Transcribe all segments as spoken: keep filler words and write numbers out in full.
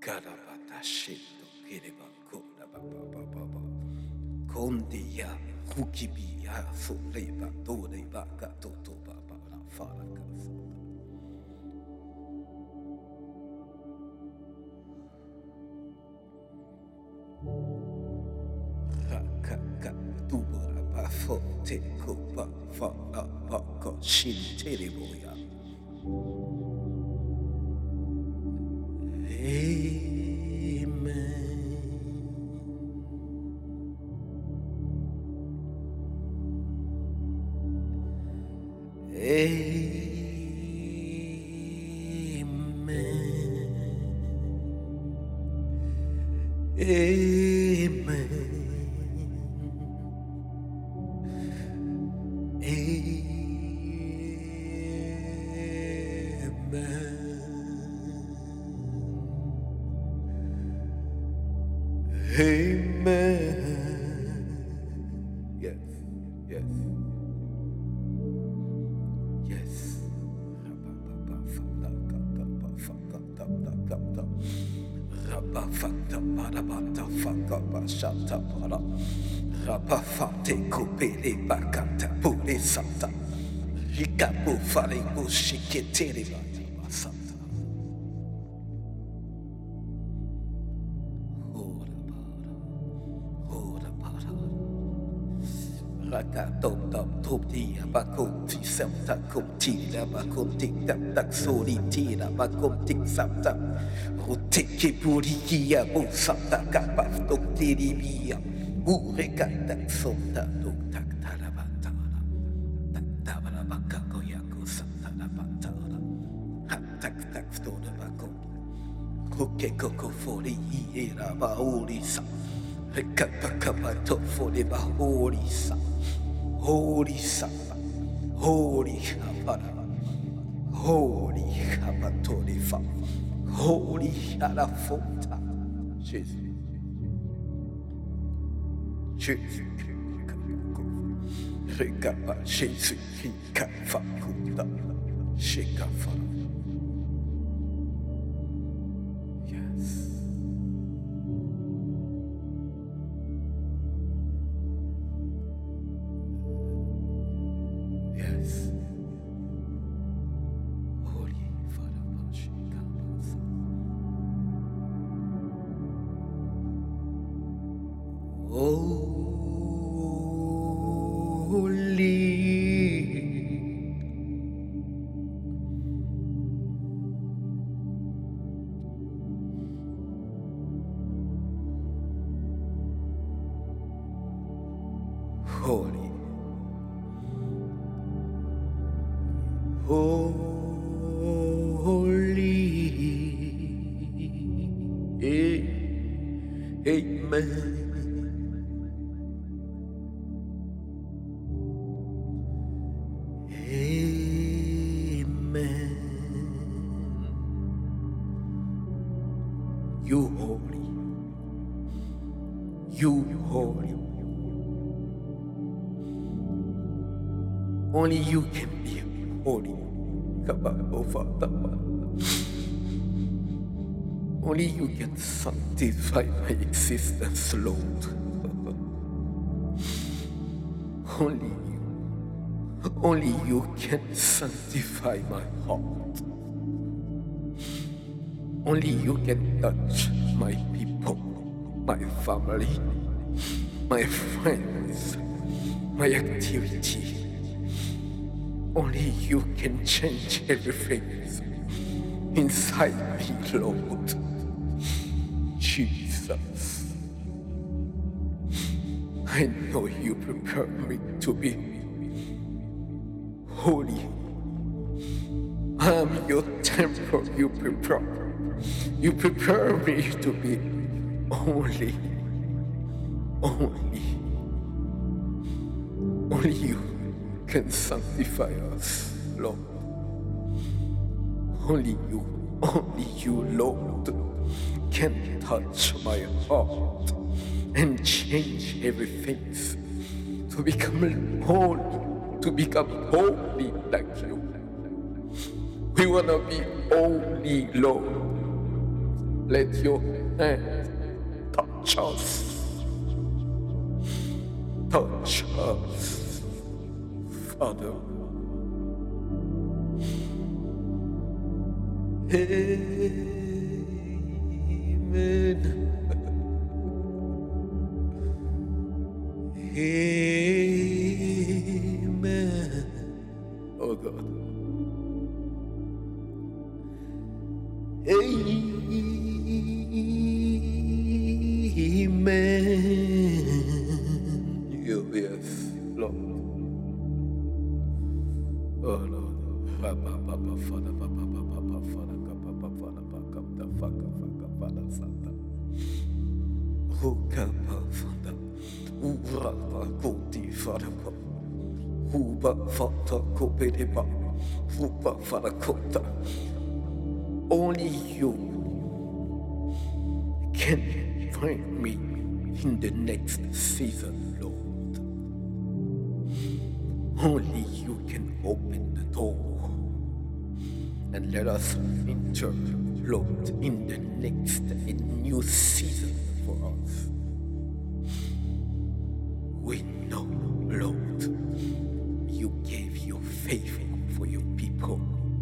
Karabata shito kireba kora ba ba ba ba ba. Kondia hukibiya sureba doreba katoto ba ba la fara kasa. Rakaka tubura ba fote kuba fara ba ko shin tereboya. Amen. Yes, yes, yes. Rabafata barabata faka bashata bara. Rabafate kupere bakata pure sata. Hikapu fare bushiketeri basata. Rakatom dam topti abakum ti samta kum ti abakum tik tak tak soli ti abakum tik samta rutiki puri kia bu samta kapaf tok tiri bia ureka tak somta tok tak tarabantara tak tabara baka koyaku samta rabantara hat tak tak stona bakum kuke koko fori era bauri sa rekapa kapa to fori bauri sa Holy Sapa, Holy Hapara, Holy Hapatorifa, Holy Harafota, Jesus, Jesus, Rekapa, Jesus, Hikafa, Kuda, Shikafa. Yes. Yes. Holy Father, Pashikabasa. Holy. Holy. Holy, Amen. Amen. You holy, you holy. Only you can be holy. Only you can sanctify my existence, Lord. Only you. Only you can sanctify my heart. Only you can touch my people, my family, my friends, my activity. Only you can change everything inside me, Lord. Jesus. I know you prepare me to be holy. I am your temple, you prepare. You prepare me to be only, only, only you can sanctify us, Lord. Only you, only you, Lord, can touch my heart and change everything to become holy, to become holy like you. We want to be holy, Lord. Let your hand touch us. Touch us, Father. Amen. Amen. Oh God. Amen. You, yes, Lord. Oh Lord. Papa, Papa, Father, Papa, Papa, Father, Papa, Father, Papa, Father, Father, Father, Santa. Oh, Papa, Father. Ura, Koti, Father, Papa. Uba, Father, Kopedipa. Uba, Father, Kota. Only you can find me in the next season, Lord. Only you can open the door and let us enter, Lord, in the next in new season for us. We know, Lord, you gave your favor for your people.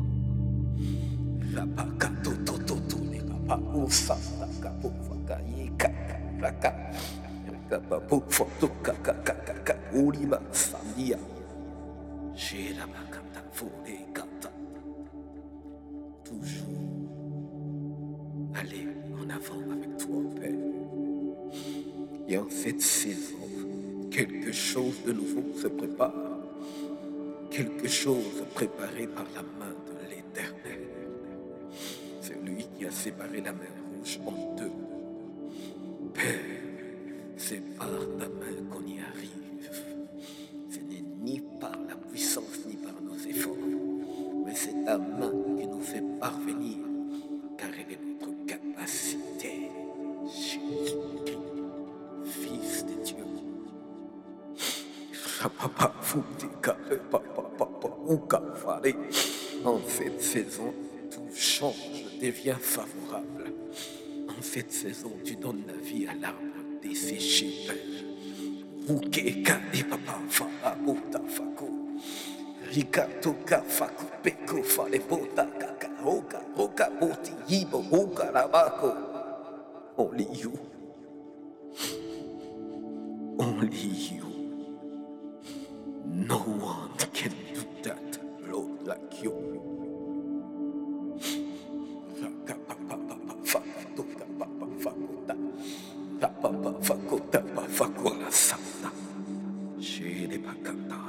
Toujours aller en avant avec toi, Père. Et en cette saison, quelque chose de nouveau se prépare. Quelque chose préparé par la main de l'Éternel. C'est lui qui a séparé la mer Rouge en deux. Père, c'est par ta main qu'on y arrive. Ce n'est ni par la puissance ni par nos efforts, mais c'est ta main qui nous fait parvenir, car elle est notre capacité. Jésus-Christ, Fils de Dieu. En cette saison, tout change, devient favorable. En cette saison, tu donnes la vie à l'arbre desséché, Père. Rukeka et papa fara bota fako. Rikato ka fako peko fale bota kaka hoka hoka boti yibo hoka rabako. Only you. Only you. No one can do that, Lord, like you. Je n'ai pas cantar.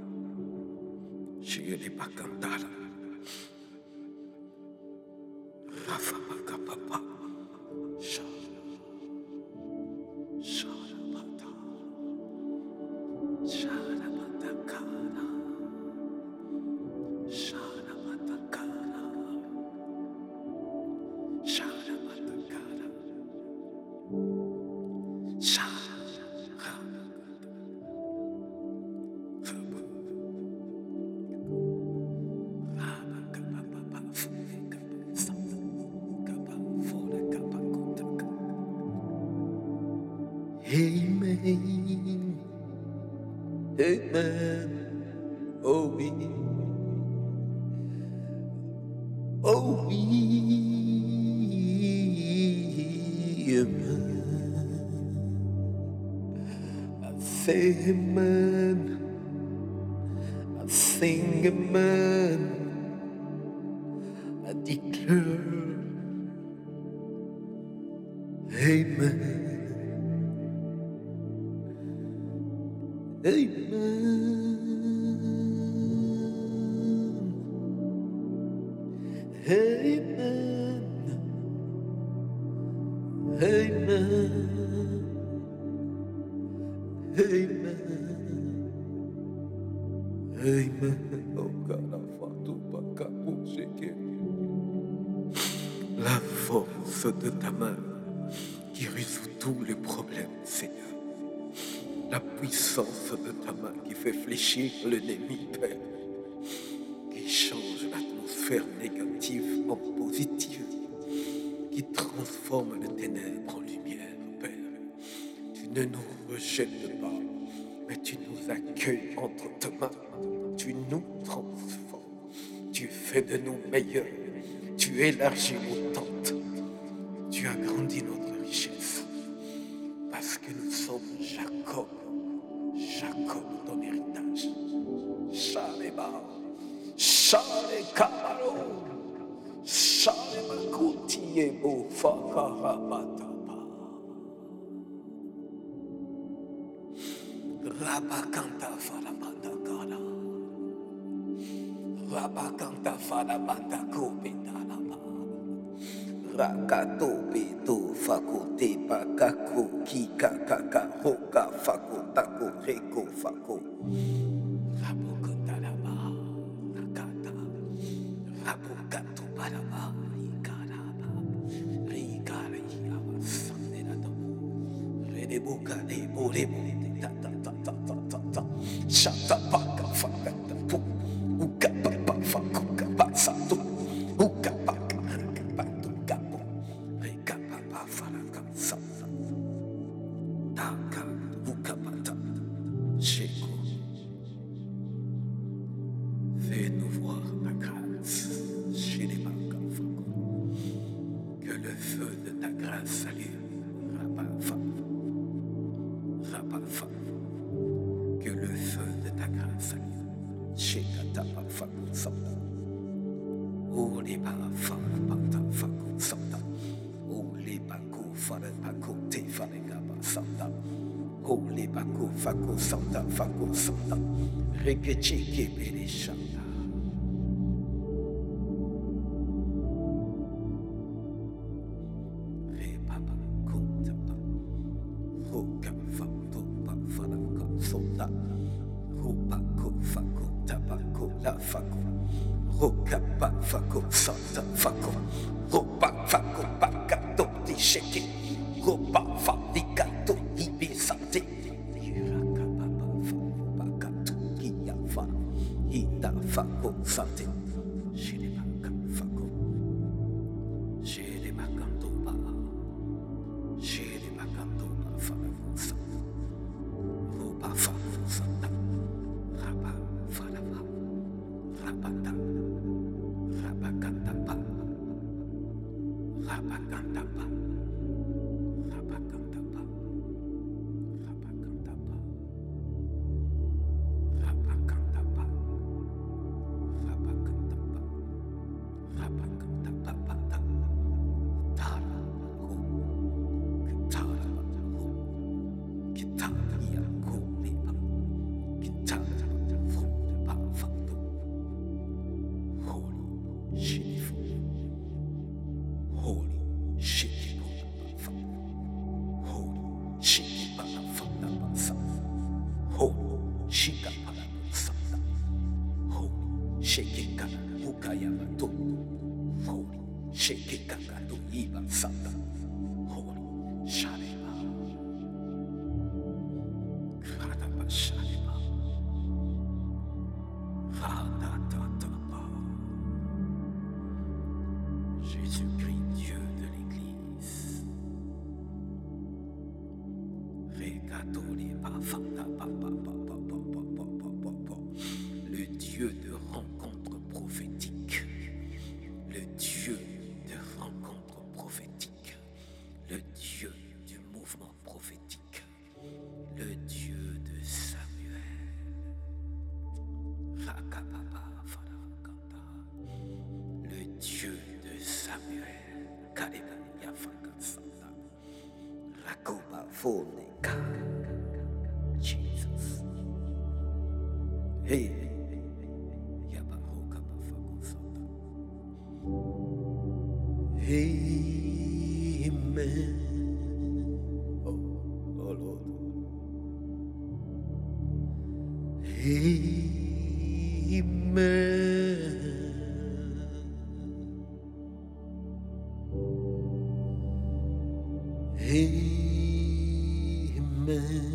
Je n'ai pas cantar. Rafa Papa. Sharabata. Sharabatakana. Sharabatakana. Sharabatakana. Amen. Amen. Oh oui. Oh oui. Amen. I say amen. I sing amen. I declare amen. Amen. Amen. Amen. Amen. Amen. Oh God, la force de ta main qui résout tous les problèmes, Seigneur. La puissance de ta main qui fait fléchir l'ennemi, Père, qui change l'atmosphère négative en positive, qui transforme transformes les ténèbres en lumière, Père. Tu ne nous rejettes pas, mais tu nous accueilles entre tes mains. Tu nous transformes. Tu fais de nous meilleurs. Tu élargis nos tentes. Tu agrandis notre richesse. Parce que nous sommes Jacob. Jacob, ton héritage. Shalema. Shalekabalo. Shalemakoutiebo fakarabataba. Rabakanta faramanda gana. Rabakanta faramanda kobetanaba. Rakato beto fakote bakako kika kaka hoka fakotako reko fako. Rabokotanaba nakata. Rabokato baraba ikaraba. Rikara yama sanderado. Redeboka debo debo ta ta ta ta ta ta ta. Shata paka fakata pu. Uka papa fakuka pasatu. Uka paka rakapatu kapo. Reka papa faraka sata. Taka uka pata. Sheko. Fais-nous voir ta grâce chez les Bakafako. Que le feu de ta grâce s'allume, Rabafa. Rabafa. Que le feu de ta grâce s'allume chez Katapafako Santa. Oh les Bafa, Bata Fako Santa. Oh les Bako, Fare Bako, Te Fare Gaba Santa. Oh les Bako, Fako Santa, Fako Santa. Rekecheke Bele Shanta. Roka fako santa fako. Ropa fako bakato di sheke. Ropa fadikato ibe sante. Iraka baba fako bakato kiyafa. Ita fako sante. Shire baka fako. Shire bakanto ba. Shire bakanto ba fako santa. Ropa fako santa. Rapa fadaba. Rapata. Rabakantapa, Rabakantapa, Rabakantapa, Rabakantapa, Rabakantapa, Rabakantapa, Rabakantapa, Tara, Kitara, Kitaria, Komiba, Kitara, Funda, Fando, Holy. Shit. Holy shit. Holy shit. Holy shika santa. Holy shake kana ukaya mato. Holy shake kana to iba santa. Holy shalema. Krada ba shalema. Krada ta ta ba. Jésus-Christ, Dieu de l'Église. Le Dieu de rencontre prophétique. Le Dieu de rencontre prophétique. Le Dieu du mouvement prophétique. Le Dieu de Samuel. Le Dieu de Samuel. Rakoba Foneka. Jesus. Hey. Yabaroka Bafakosata. Amen. Oh, oh Lord. Amen. Amen.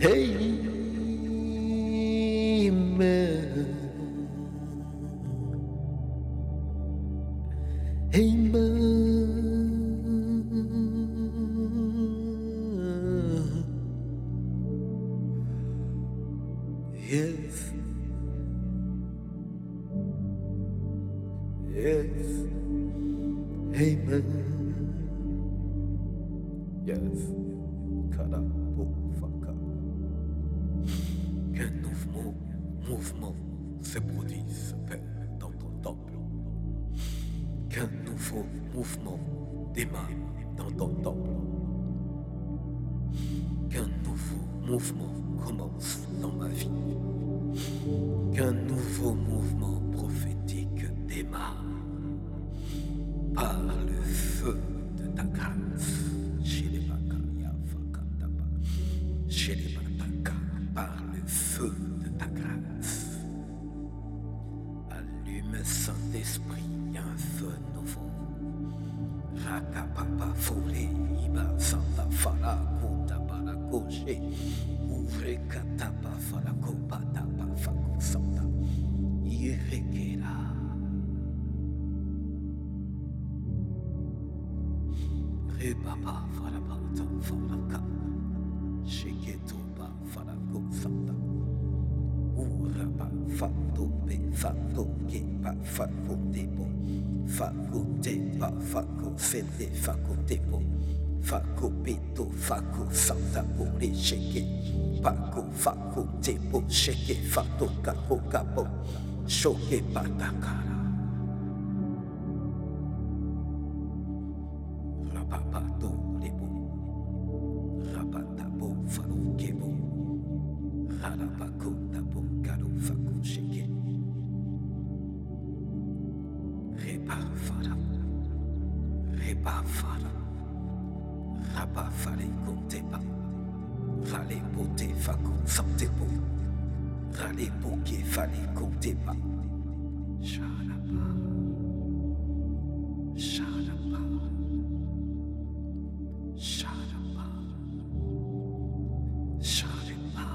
Amen. Yes. Amen. Yes. Karapofaka. Qu'un mouvement, mouvement se produise, Père, dans ton temple. Qu'un nouveau mouvement démarre dans ton temple. Qu'un nouveau mouvement commence dans ma vie. Qu'un nouveau mouvement prophétique démarre par le feu de ta grâce. Par le feu de ta grâce. Allume, Saint-Esprit, un feu nouveau. Rakapapa Fole, Iba Santa Fala, Kota Balakoche, Ouvre Katapa Falako, Patapa Fako Santa, Irekera. Rebaba Falabata Falaka, Sheketoba Falako Santa, Uraba Fato Be Fato Kepa Fako Debo, Fako Tepa Fako Sende Fako Debo, Fako Beto Fako Santa Bore Sheke, Fako Fako Debo Sheke Fato Kapo Kapo, Shoke Patakara. Rapapato Lebo, Rapatabo Falo Kebo, Rarapako Tabo Karo Fako Sheke, Repa Fara, Repa Fara, Rapa Fale Konteba, Rale Pote Fako Santebo, Rale Poke Fale Konteba, Sharapa, Sharapa, Sharapa, Sharapa,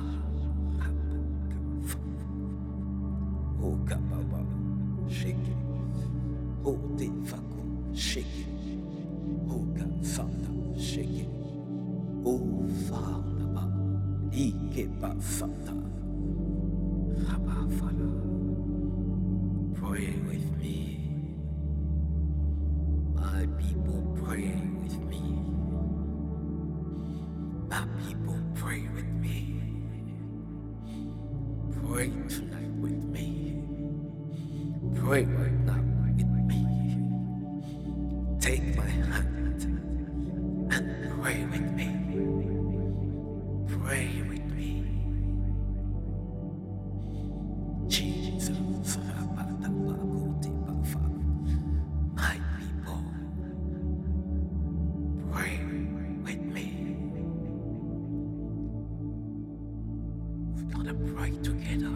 Oka Baba, Shake it, Ote Fako, shake it, Oka Santa, shake it, O Father, Ike Santa, Rabba Fala, pray with me. My people pray with me. My people pray with me. Pray tonight with me. Pray right now with me. Take my hand and pray with me. Pray with me. Jesus, my people, pray with me. We're gonna pray together,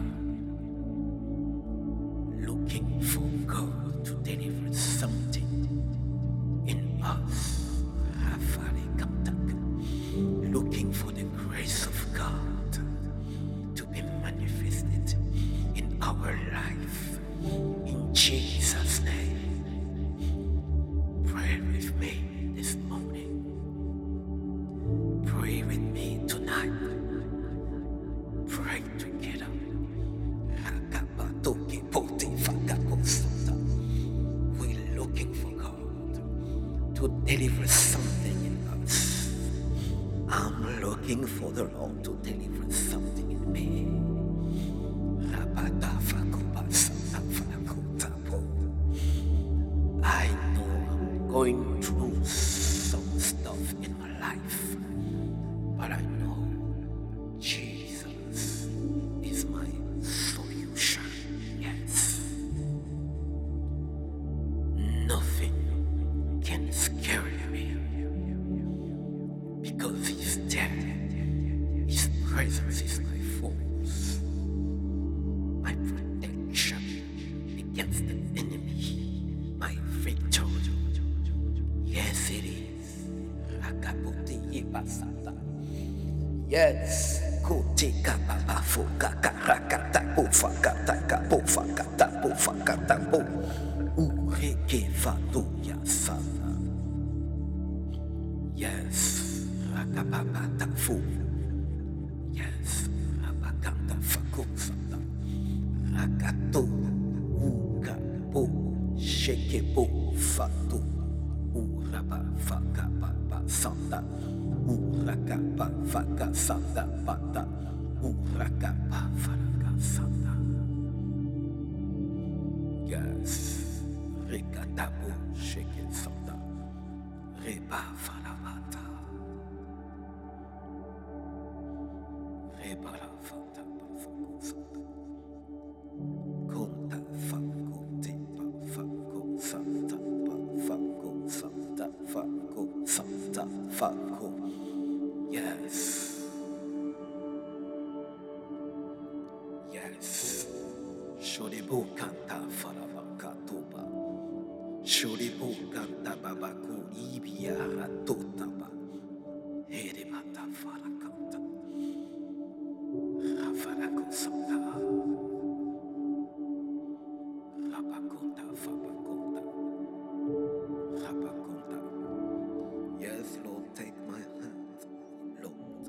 looking for God to deliver something in us. Looking for the grace of God to be manifested in our life. In Jesus' name, pray with me this morning. Pray with me tonight. Pray together. We're looking for God to deliver something in us. I'm looking for the Lord to deliver something in me. I know I'm going through some stuff in my life, but I know Jesus is my solution. Yes. Nothing can scare me because He's there. His presence is my force, my protection against the enemy, my victory. Yes, it is. Yes. Kotika baba foka karakata pofakata kapofakata pofakata po ureke fatu ya sana. Yes, rakababa tafu. Yes, rabakanta fakusata. rakato, ukapo, shekebo, fato, uraba, fakaba, santa, urakaba, faka, santa, bata, urakaba, faraka, santa. Yes, rekatabo, sheke, santa, reba, falamata, reba, la, fanta, bafako, santa. Conta faco tipa faco santa pa faco santa faco santa faco. Yes. Yes. Shoribu canta faravaka toba. Shoribu canta babaku ibia ratotaba. Herimata farakanta. Rafarako santa. Rabakonta, Fabakonta, Rabakonta. Yes, Lord, take my hand, Lord.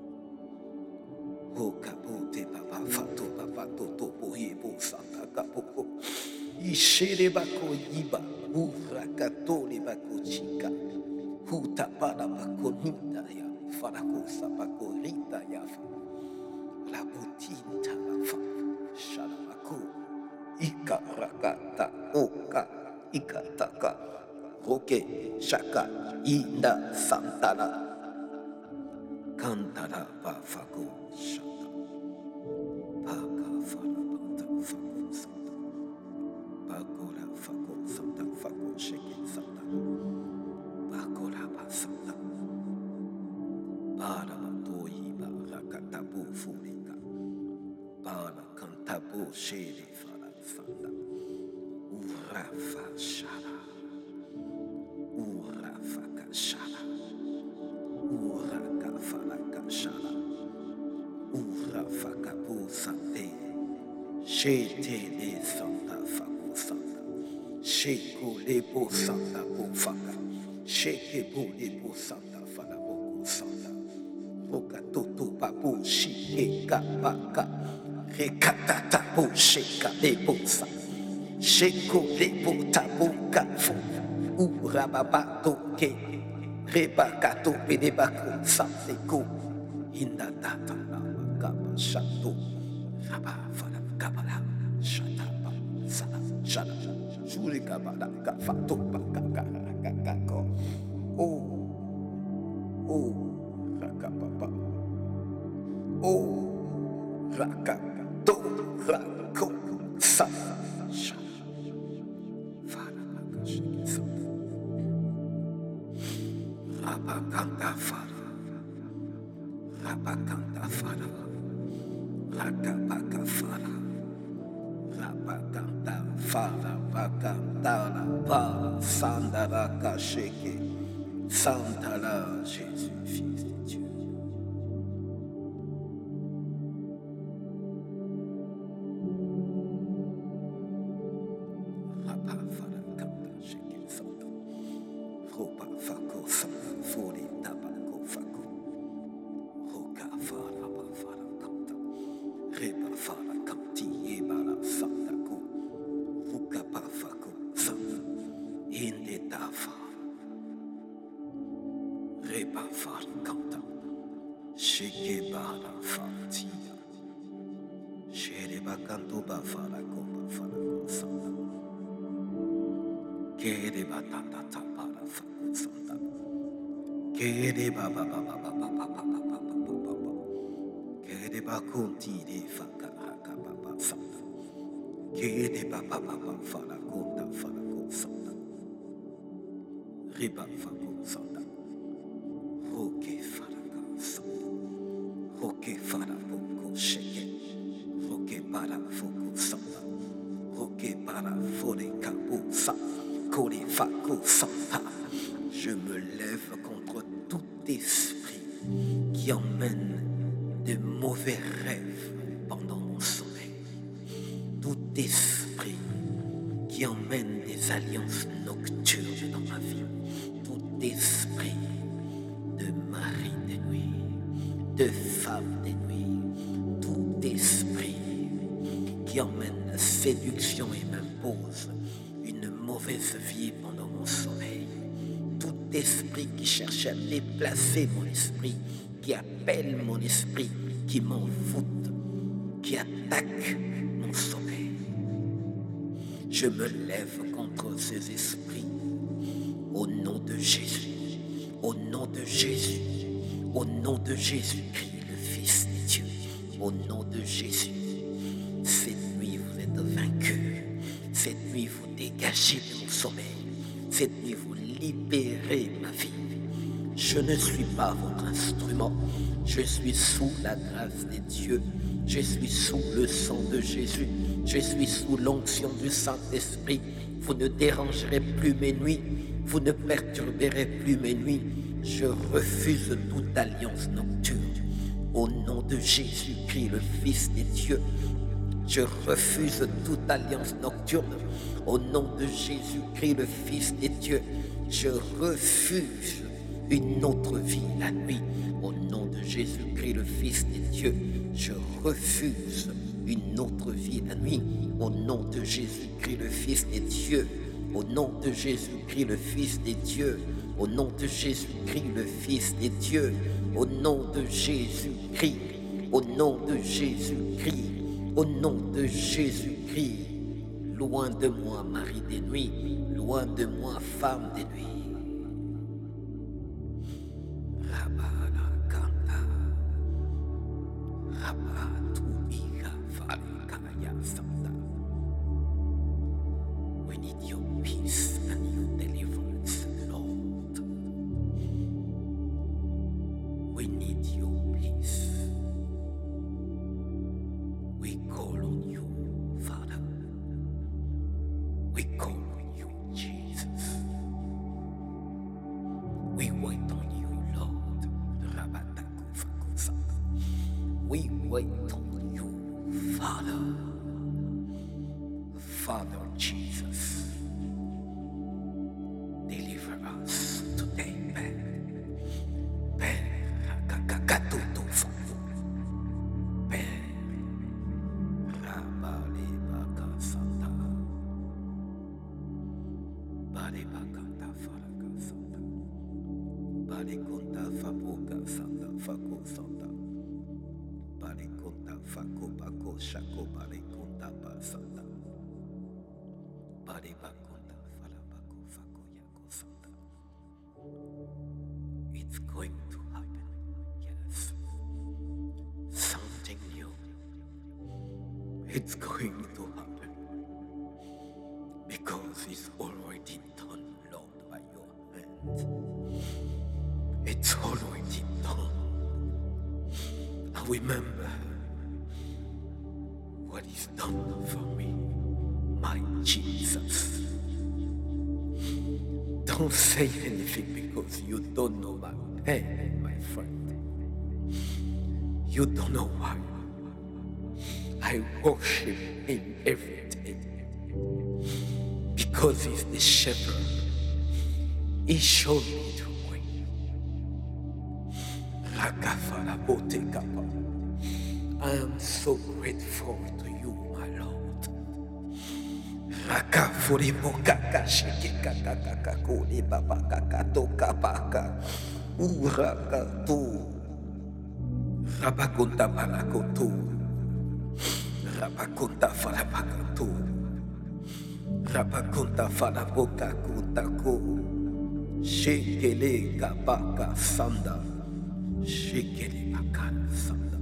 O kapote baba fato baba toto bohebo santa kapopo. Ishere bako yiba, urakatole bako chika. Huta para bako ninda ya, farakosa bako rita ya fa. La butinta la fa, shalabako. Ika rakata oka ikataka roke shaka inda santana kantara bafako shata paka fara banta fako santa bakora fako santa fako sheke santa bakora basanta para batoyi barakata bufurika para kantabu shiri fara santa urafa shara urafa kashara uraka faraka shara urafa kabu sante shete le santa faku santa sheko lebo santa bufaka sheke bo lebo santa fara boku santa roka toto babu shike kapaka rekatata bo sheka lebo santa Sheko lebo tabu kafu urababato ke rebakato pedebako santeko inda data nama kaba shato raba fala kabala shatapa sana shana shuri kabala kafato bakaka kakako oh oh rakapapa oh rakato rako sana Rabakanta Fara, Rabakanta Fara, Rakabaka Fara, Rabakanta Fara, Bakantara Para, Sandaraka Sheke, Santara, Jésus, Fils de Dieu. Rabafara Kanta Sheke Santa, Roba Fako Santa, Fori Tabako Fako, Roka Fara Bafara Kanta, Reba Fara Kanti Ebara Santa Ko, Ruka Pafako Santa, Inde Tafa, Reba Fara Kanta, Sheke Bara Fatia, Shereba Kanto Bafara Ko Bafara Ko Santa. Kere batata tapara faku santa. Kere baba baba baba baba baba baba baba. Kere bakunti de faka haka baba santa. Kere baba baba fara konta fara ko santa. Riba faku santa. Roke fara ka santa. Roke fara boko sheke. Roke para foku santa. Roke para fore kabu santa. Je me lève contre tout esprit qui emmène de mauvais rêves pendant mon sommeil. Tout esprit qui emmène des alliances nocturnes dans ma vie. Tout esprit de mari des nuits, de femme des nuits. Tout esprit qui qui emmène la séduction et m'impose une mauvaise vie pendant mon sommeil. Tout esprit qui cherche à déplacer mon esprit, qui appelle mon esprit, qui m'envoûte, qui attaque mon sommeil. Je me lève contre ces esprits au nom de Jésus, au nom de Jésus, au nom de Jésus-Christ, le Fils de Dieu, au nom de Jésus. Cette nuit, vous êtes vaincus. Cette nuit, vous dégagez de mon sommeil. Cette nuit, vous libérez ma vie. Je ne suis pas votre instrument. Je suis sous la grâce de Dieu. Je suis sous le sang de Jésus. Je suis sous l'onction du Saint-Esprit. Vous ne dérangerez plus mes nuits. Vous ne perturberez plus mes nuits. Je refuse toute alliance nocturne. Au nom de Jésus-Christ, le Fils de Dieu, je refuse toute alliance nocturne. Au nom de Jésus-Christ, le Fils de Dieu, je refuse une autre vie la nuit. Au nom de Jésus-Christ, le Fils de Dieu, je refuse une autre vie la nuit. Au nom de Jésus-Christ, le Fils de Dieu, au nom de Jésus-Christ, le Fils de Dieu, au nom de Jésus-Christ, le Fils de Dieu, au nom de Jésus-Christ, au nom de Jésus-Christ, au nom de Jésus-Christ. Loin de moi, mari des nuits, loin de moi, femme des nuits. We need your peace and your deliverance, Lord. We need your peace. We call on you, Father. We call on you, Jesus. We wait on you, Lord. We wait on you, Father. Father Jesus, deliver us today, Père. Père, kakakatutu fafu. Père, rabale baka santa. Bale bakata faraka santa. Bale konta faboka santa fako santa. Bale konta fako bako shako bale konta ba santa. It's going to happen, yes. Something new. It's going to happen. Because it's already done, Lord, by your hand. It's already done. I remember what is done for me. My Jesus. Don't say anything because you don't know my pain, my friend. You don't know why. I worship him every day. Because he's the shepherd. He showed me the way. I am so grateful to you, my Lord. Rakafuri bokaka shiki kakaka kuli babaka katoka baka urakatu rabakunta balakotu rabakunta falabakatu rabakunta falaboka kutako shikele kabaka sanda shikele bakala sanda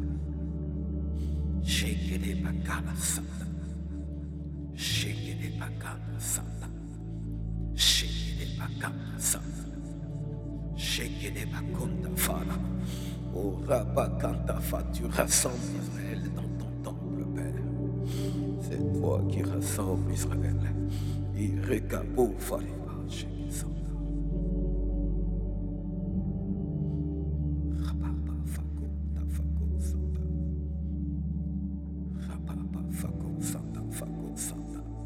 shikele bakala sanda Shake it bakana sanda. Shake it bakana sanda. Shake it bakunda fala. Oh rabakanta fa, tu rassembles Israël dans ton temple, Père. C'est toi qui rassembles Israël. Il recabo faliba, shake it sanda. Rababa fako, ta fako sanda. Rababa fako sanda, fako sanda.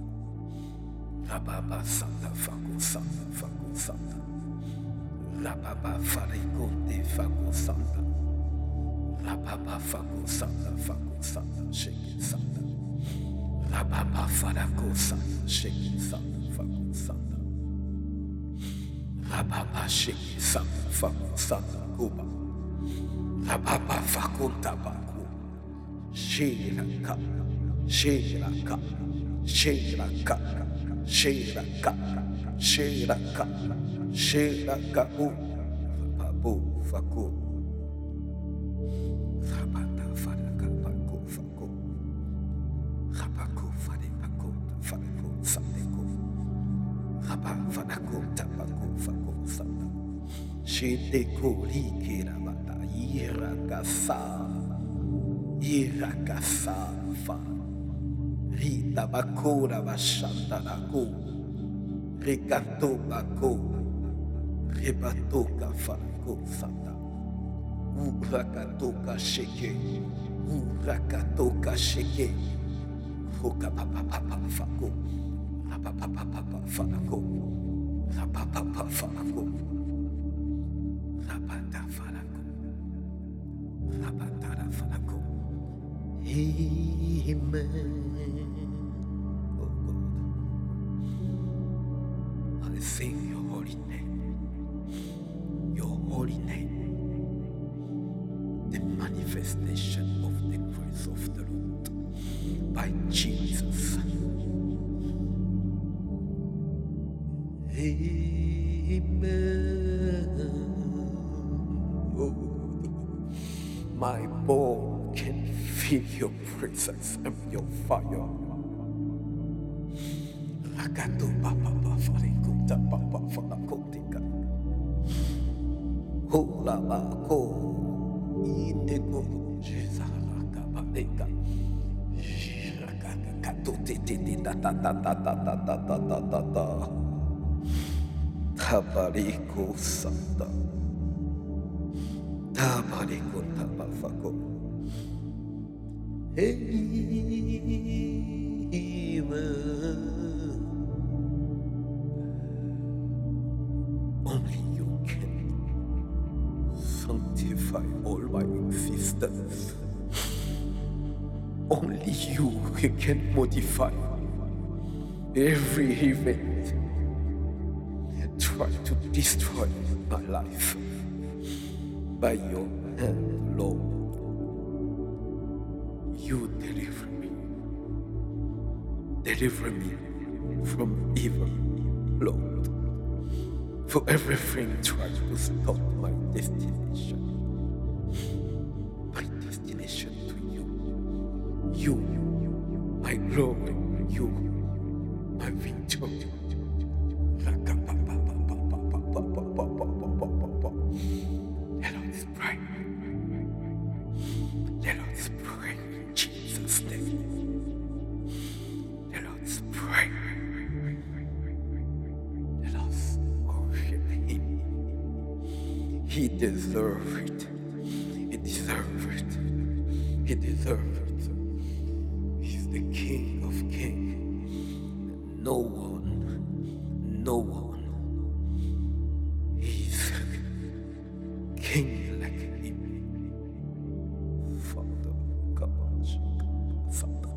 Rababa santa fako santa fako santa. Rababa farikonte fako santa. Rababa fako santa fako santa shake santa. Rababa Fadako Sanda, Shake Sanda, Fako Sanda. Rababa Shake Sanda, Fako Sanda, Kuba. Rababa Fako Tabaku. Shiraka, Shiraka, Shiraka, Shiraka, Shiraka, Shiraka, Babu Fako. Rabata Fadaka Bako Fako. Rabako Fadeko Fadeko Sandeko. Rabba Fadako Tabako Fako Sanda. Shideko Likira Bata Irakasa. Irakasafa Rita Bakura Bashanda Nako Regato Bako Rebatoka Farako Santa Urakatoka Sheke Urakatoka Sheke Roka Papa Papa Fako Rapapa Papa Farako Rapapa Farako Rapata Farako Rapata Farako. Amen. Oh God, I sing your holy name, your holy name, the manifestation of the grace of the Lord by Jesus. Amen. Oh, my bone can feel your presence and your fire. Rakato papa farikuta papa farakotika. Hola bako indego jezaraka badeka. Jirakaka kato tete ta ta ta ta ta ta ta ta ta ta ta. Tabariko santa. Tabariko tabafako. Amen. Only you can sanctify all my existence. Only you can modify every event try to destroy my life by your hand, Lord. You deliver me. Deliver me from evil, Lord. For everything tries to stop my destination. My destination to you. You, my glory. You, my victory. Let us pray. Let us pray in Jesus' name. Let us pray. Let us worship Him. He deserves it. He deserves it. He deserves it. He's the King of Kings. No one, no one. He's King like Him. Father, Kabash, Father.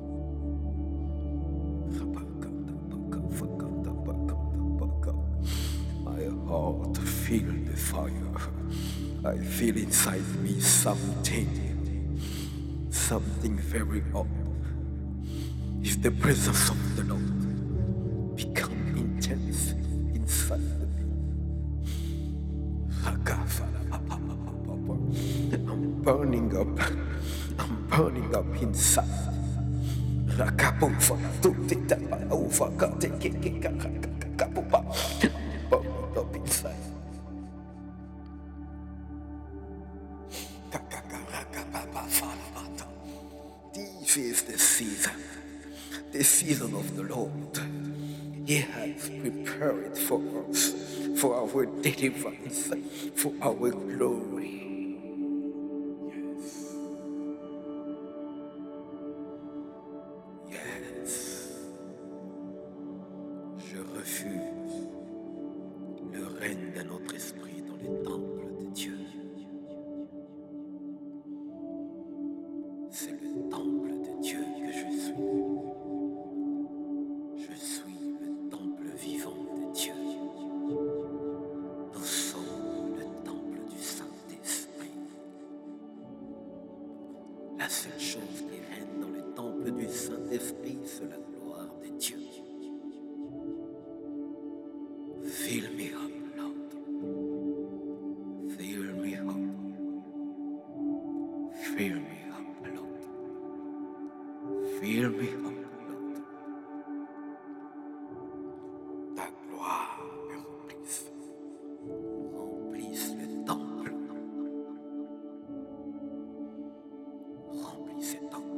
My heart feel the fire. I feel inside me something, something very odd. It's the presence of the Lord become intense inside me. I'm burning up. I'm burning up inside. Burning up inside. This is the season, the season of the Lord. He has prepared for us, for our deliverance, for our glory. Yes. Yes. Je refuse le règne de notre esprit dans les temples de Dieu. C'est le temple de Dieu que je suis. La seule chose qui règne dans le temple du Saint-Esprit, c'est la gloire de Dieu. Fill me up, Lord. Fill me up. Fill me up, Lord. Fill me up, Lord. Ta gloire me remplisse. Remplisse le temple. Remplis ce temple.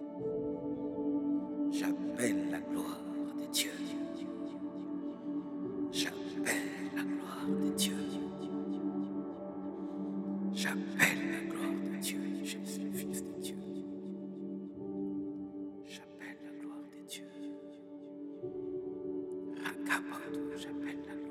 J'appelle la gloire de Dieu. J'appelle la gloire de Dieu. J'appelle la gloire de Dieu. Je suis fils de Dieu. J'appelle la gloire de Dieu. Rakapoto, j'appelle la gloire